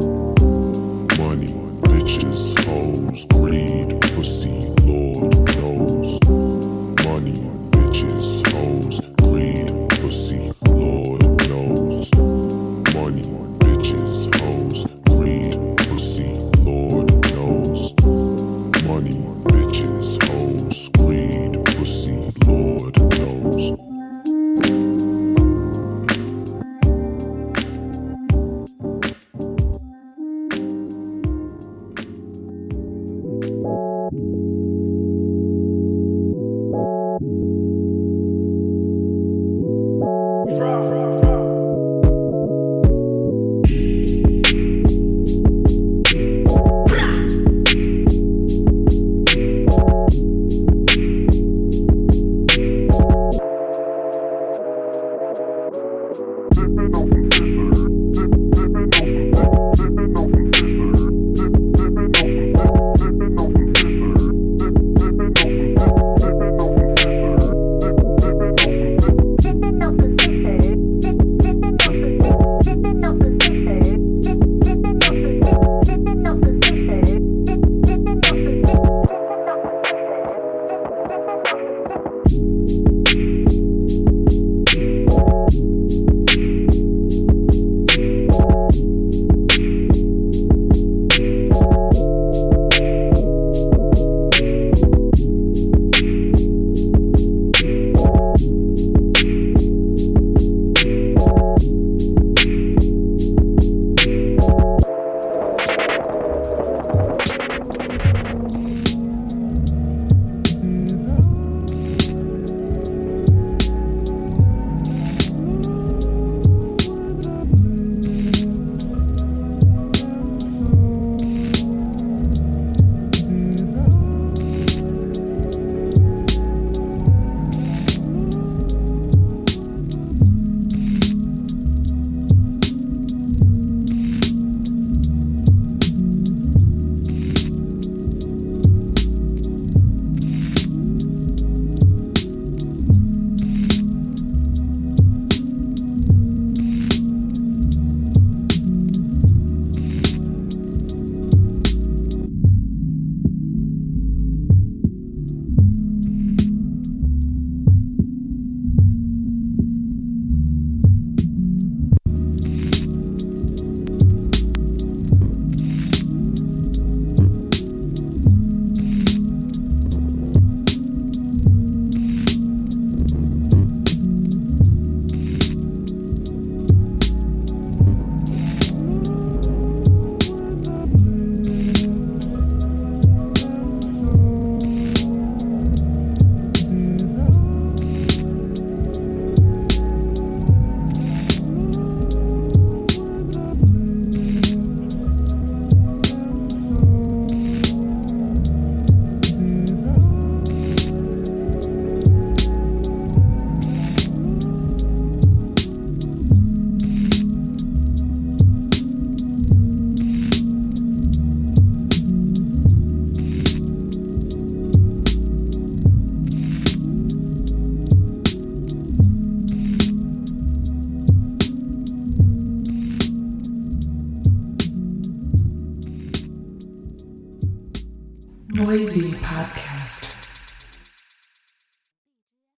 Money, bitches, hoes, greed, pussy, Lord knows. Money, bitches, hoes, greed, pussy, Lord knows. Money, bitches, hoes, greed, pussy, Lord knows. Money, bitches, hoes, greed, pussy, Lord knows. Noisy Podcast.